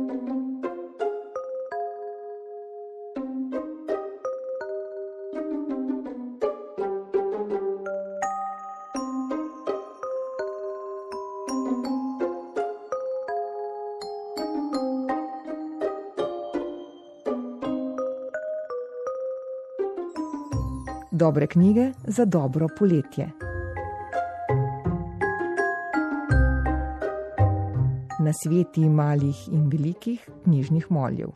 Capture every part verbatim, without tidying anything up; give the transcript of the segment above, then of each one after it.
Dobre knjige za dobro poletje. Nasveti malih in velikih knjižnih moljev.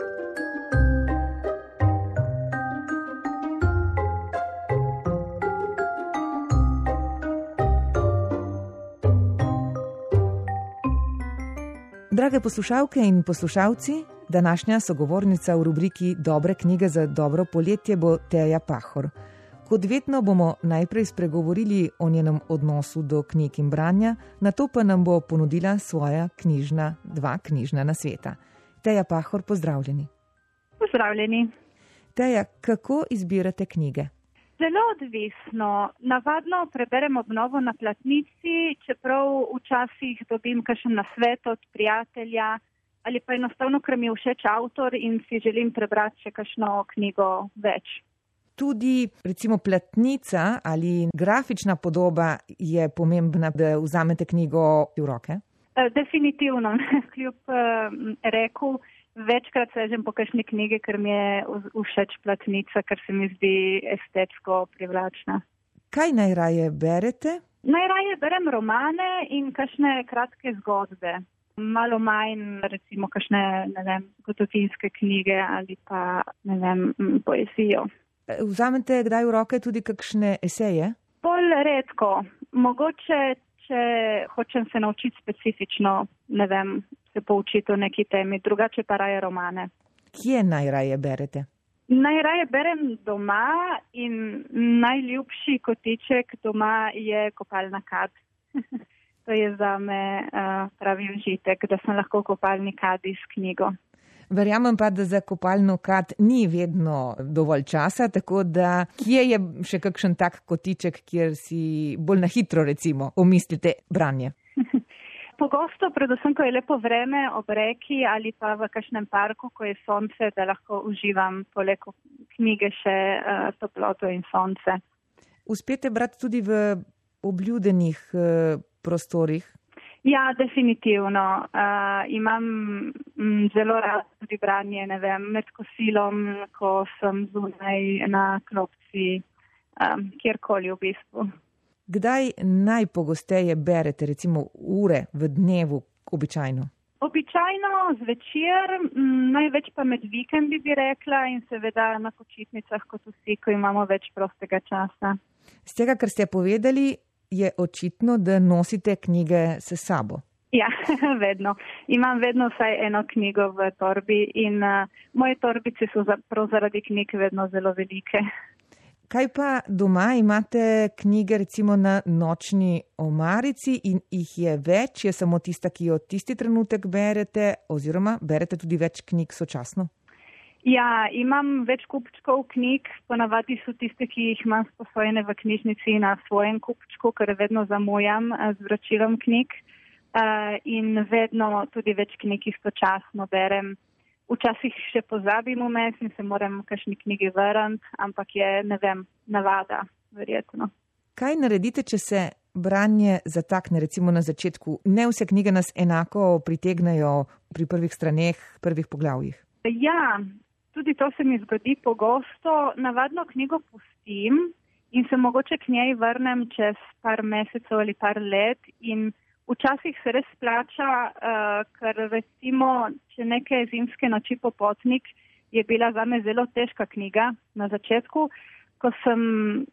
Drage poslušalke in poslušalci, današnja sogovornica v rubriki Dobre knjige za dobro poletje bo Teja Pahor. Kot vedno bomo najprej spregovorili o njenem odnosu do knjig in branja, nato pa nam bo ponudila svoja knjižna, dva knjižna nasveta. Teja Pahor, pozdravljeni. Pozdravljeni. Teja, kako izbirate knjige? Zelo odvisno. Navadno preberem obnovo na platnici, čeprav včasih dobim kakšen nasvet od prijatelja ali pa enostavno, ker mi je všeč avtor in si želim prebrati še kakšno knjigo več. Tudi recimo platnica ali grafična podoba je pomembna, da vzamete knjigo v roke? Definitivno. Kljub reku, večkrat sežem po kakšni knjigi, ker mi je všeč platnica, ker se mi zdi estetsko privlačna. Kaj najraje berete? Najraje berem romane in kakšne kratke zgodbe. Malo manj, recimo, kakšne, ne vem, zgodovinske knjige ali pa, ne vem, poezijo. Vzamete kdaj v roke tudi kakšne eseje? Bolj redko. Mogoče, če hočem se naučiti specifično, ne vem, se poučiti o neki temi, drugače pa raje romane. Kje najraje berete? Najraje berem doma in najljubši kotiček doma je kopalna kad. To je zame uh, pravi užitek, da sem lahko v kopalni kadi s knjigo. Verjamem pa, da za kopalno kad ni vedno dovolj časa, tako da kje je še kakšen tak kotiček, kjer si bolj na hitro recimo omislite branje? Pogosto, predvsem, ko je lepo vreme ob reki ali pa v kakšnem parku, ko je sonce, da lahko uživam poleg knjige še uh, toploto in sonce. Uspete brati tudi v obljudenih uh, prostorih? Ja, definitivno. Uh, imam m, zelo rad tudi branje, ne vem, med kosilom, ko sem zunaj na klopci, um, kjerkoli v bistvu. Kdaj najpogosteje berete, recimo ure v dnevu, običajno? Običajno zvečer, m, največ pa med vikendi bi rekla in seveda na počitnicah kot vsi, ko imamo več prostega časa. Z tega, kar ste povedali, je očitno, da nosite knjige s sabo. Ja, vedno. Imam vedno vsaj eno knjigo v torbi in uh, moje torbice so za, prav zaradi knjig vedno zelo velike. Kaj pa doma imate knjige recimo na nočni omarici in jih je več? Je samo tista, ki jo tisti trenutek berete oziroma berete tudi več knjig sočasno? Ja, imam več kupčkov knjig, ponavadi so tiste, ki jih imam sposojene v knjižnici na svojem kupčku, ker vedno zamujam z vračilom knjig uh, in vedno tudi več knjig istočasno berem. Včasih še pozabim vmes in se moram v kakšni knjigi vrniti, ampak je, ne vem, navada, verjetno. Kaj naredite, če se branje zatakne, recimo na začetku? Ne vse knjige nas enako pritegnejo pri prvih straneh, prvih poglavjih. Ja, tudi to se mi zgodi pogosto. Navadno knjigo pustim in se mogoče k njej vrnem čez par mesecev ali par let in včasih se res splača, uh, ker recimo, če neke zimske noči popotnik je bila zame zelo težka knjiga na začetku, ko sem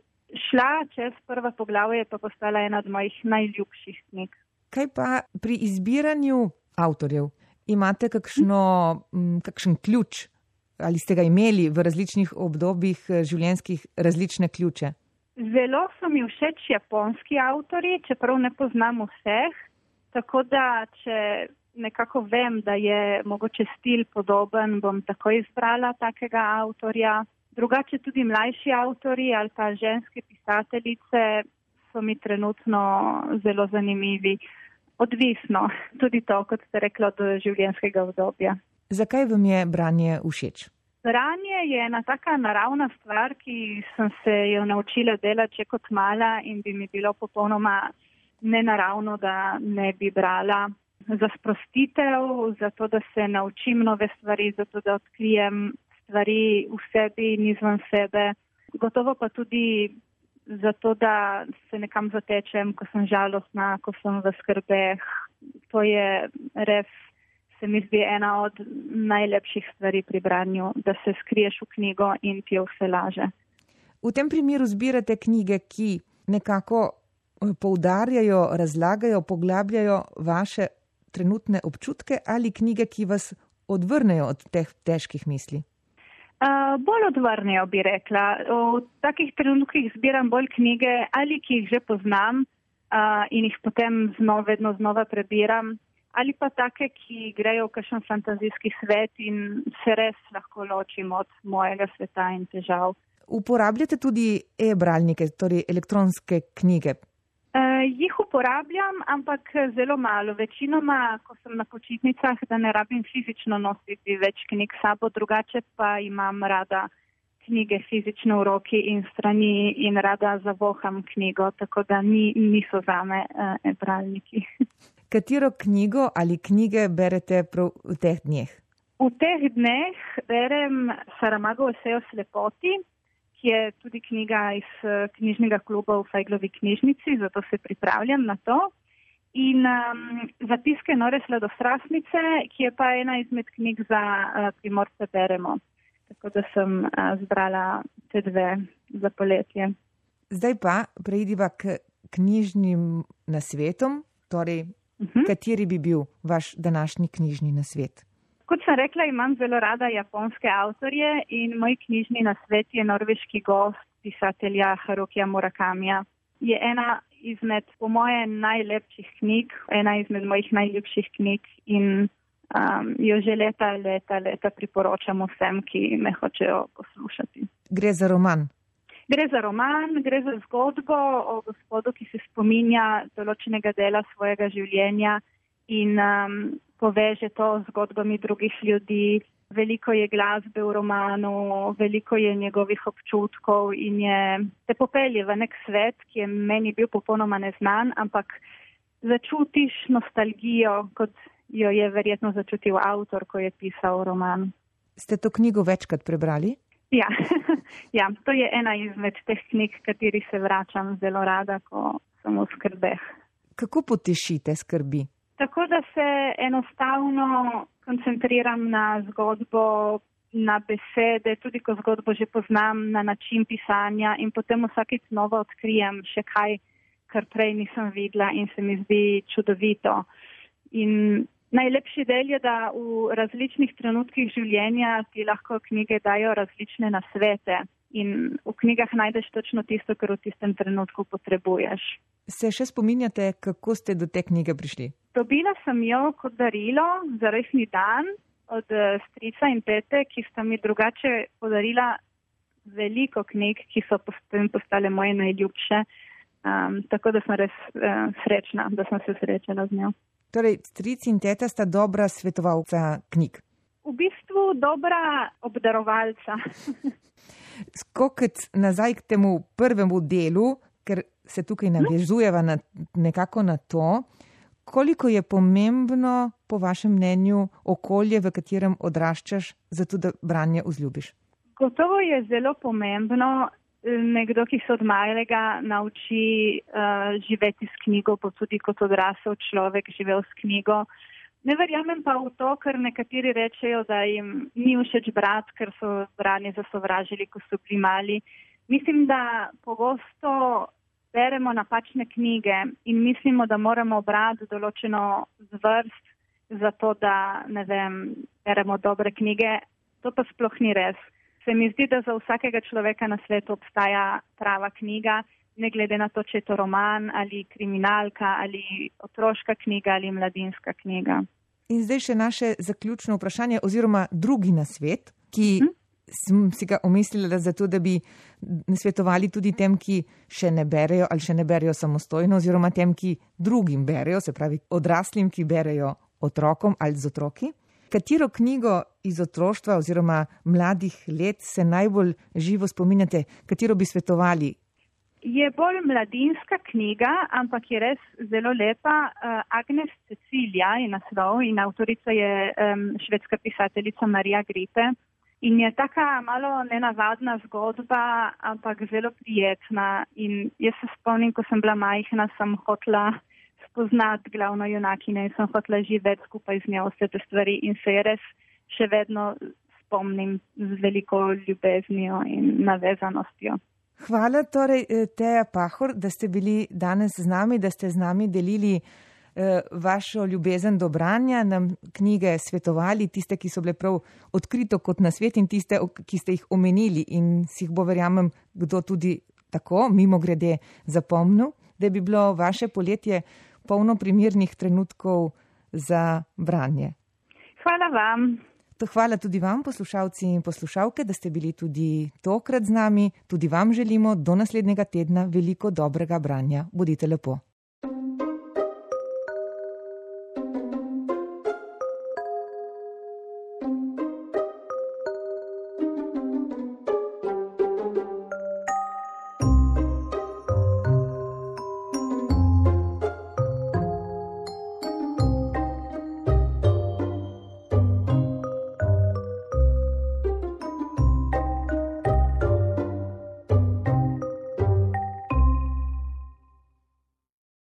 šla čez prva poglavje, je pa postala ena od mojih najljubših knjig. Kaj pa pri izbiranju avtorjev? Imate kakšno, kakšen ključ? Ali ste ga imeli v različnih obdobjih življenjskih različne ključe? Zelo so mi všeč japonski avtorji, čeprav ne poznam vseh, tako da če nekako vem, da je mogoče stil podoben, bom tako izbrala takega avtorja. Drugače tudi mlajši avtorji ali pa ženske pisateljice so mi trenutno zelo zanimivi. Odvisno, tudi to, kot ste rekla, do življenjskega obdobja. Zakaj vam je branje všeč? Branje je ena taka naravna stvar, ki sem se jo naučila delati že kot mala in bi mi bilo popolnoma nenaravno, da ne bi brala. Za sprostitev, zato da se naučim nove stvari, zato da odkrijem stvari v sebi in izven sebe. Gotovo pa tudi zato, da se nekam zatečem, ko sem žalostna, ko sem v skrbeh. To je res, se mi zdi, ena od najlepših stvari pri branju, da se skriješ v knjigo in ti je vse laže. V tem primeru zbirate knjige, ki nekako poudarjajo, razlagajo, poglabljajo vaše trenutne občutke ali knjige, ki vas odvrnejo od teh težkih misli? Uh, bolj odvrnejo, bi rekla. V takih trenutkih zbiram bolj knjige, ali ki jih že poznam uh, in jih potem znova, vedno znova prebiram, ali pa take, ki grejo v kakšen fantazijski svet in se res lahko ločim od mojega sveta in težav. Uporabljate tudi e-bralnike, torej elektronske knjige? Uh, jih uporabljam, ampak zelo malo. Večinoma, ko sem na počitnicah, da ne rabim fizično nositi več knjig sabo, drugače pa imam rada knjige fizično v roki in strani in rada zavoham knjigo, tako da ni, niso zame uh, e-bralniki. Katero knjigo ali knjige berete prav v teh dneh? V teh dneh berem Saramagovo eseje o slepoti, ki je tudi knjiga iz knjižnega kluba v Fajglovi knjižnici, zato se pripravljam na to. In um, Zapiske nore sladostrastnice, ki je pa ena izmed knjig za uh, Primorce beremo. Tako da sem uh, zbrala te dve za poletje. Zdaj pa preidiva k knjižnim nasvetom, torej uh-huh. Kateri bi bil vaš današnji knjižni nasvet? Kot sem rekla, imam zelo rada japonske avtorje in moj knjižni nasvet je Norveški gost pisatelja Harukija Murakamija. Je ena izmed, po moje, najlepših knjig, ena izmed mojih najljubših knjig in um, jo že leta, leta, leta priporočam vsem, ki me hočejo poslušati. Gre za roman? Gre za roman, gre za zgodbo o gospodu, ki se spominja določenega dela svojega življenja in um, poveže to z zgodbami drugih ljudi. Veliko je glasbe v romanu, veliko je njegovih občutkov in je te popelje v nek svet, ki je meni bil popolnoma neznan, ampak začutiš nostalgijo, kot jo je verjetno začutil avtor, ko je pisal roman. Ste to knjigo večkrat prebrali? Ja, ja, to je ena izmed teh knjig, kateri se vračam zelo rada, ko sem v skrbeh. Kako potešite skrbi? Tako da se enostavno koncentriram na zgodbo, na besede, tudi ko zgodbo že poznam, na način pisanja in potem vsakič znova odkrijem še kaj, kar prej nisem videla in se mi zdi čudovito. In najlepši del je, da v različnih trenutkih življenja ti lahko knjige dajo različne nasvete in v knjigah najdeš točno tisto, kar v tistem trenutku potrebuješ. Se še spominjate, kako ste do te knjige prišli? Dobila sem jo kot darilo za rojstni dan od strica in tete, ki sta mi drugače podarila veliko knjig, ki so postale moje najljubše. Um, tako da sem res uh, srečna, da sem se srečala z njo. Torej, stric in teta sta dobra svetovalca knjig? V bistvu dobra obdarovalca. Skokec nazaj k temu prvemu delu, ker se tukaj navezujeva na, nekako na to, koliko je pomembno, po vašem mnenju, okolje, v katerem odraščaš, zato da branje vzljubiš? Gotovo je zelo pomembno. Nekdo, ki se od malega nauči uh, živeti s knjigo, pa tudi kot odrasel človek živel s knjigo. Ne verjamem pa v to, ker nekateri rečejo, da jim ni všeč brati, ker so branje zasovražili, ko so bili mali. Mislim, da pogosto beremo napačne knjige in mislimo, da moramo brati določeno zvrst za to, da, ne vem, beremo dobre knjige. To pa sploh ni res. Se mi zdi, da za vsakega človeka na svetu obstaja prava knjiga, ne glede na to, če je to roman ali kriminalka ali otroška knjiga ali mladinska knjiga. In zdaj še naše zaključno vprašanje oziroma drugi nasvet, ki hm? sem si ga omislila zato, da bi svetovali tudi tem, ki še ne berejo ali še ne berejo samostojno oziroma tem, ki drugim berejo, se pravi odraslim, ki berejo otrokom ali z otroki. Katero knjigo iz otroštva oziroma mladih let se najbolj živo spominjate, katero bi svetovali? Je bolj mladinska knjiga, ampak je res zelo lepa. Uh, Agnes Cecilija je naslov in avtorica je um, švedska pisateljica Marija Gripe. In je taka malo nenavadna zgodba, ampak zelo prijetna. In jaz se spomnim, ko sem bila majhna, sem hotela spoznati glavno junakine in sem hotela živeti skupaj z njo vse te stvari in se je res še vedno spomnim z veliko ljubeznijo in navezanostjo. Hvala torej, Teja Pahor, da ste bili danes z nami, da ste z nami delili eh, vašo ljubezen do branja, nam knjige svetovali, tiste, ki so bile prav odkrito kot na svet in tiste, ki ste jih omenili in si jih bo, verjamem, kdo tudi tako, mimo grede zapomnil, da bi bilo vaše poletje polno primernih trenutkov za branje. Hvala vam. Hvala tudi vam, poslušalci in poslušalke, da ste bili tudi tokrat z nami. Tudi vam želimo do naslednjega tedna veliko dobrega branja. Bodite lepo.